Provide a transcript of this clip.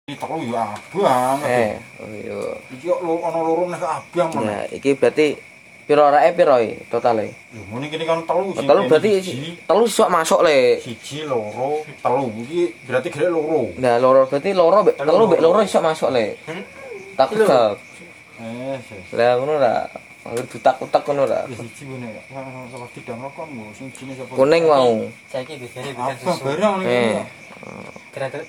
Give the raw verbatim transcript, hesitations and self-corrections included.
Telu ya abang. Eh, oh iya. Iki kok lo ana loro nek abang men. Nah, iki berarti piro rake piro iki totale? Lho ngene kene kan telu sing. Telu berarti telu iso masuk le. Siji loro telu iki berarti gere loro. Nah, loro berarti loro mbek telu mbek loro iso masuk le. Tak kebab. Eh, Lah ngono ra. Angger dutak-utak ngono ra. siji ngene ya. Salah tidak rokok sing jine sapa? Kuning mau. Saiki biasane bikin Apa susu. barang Eh. ngene. Kira-kira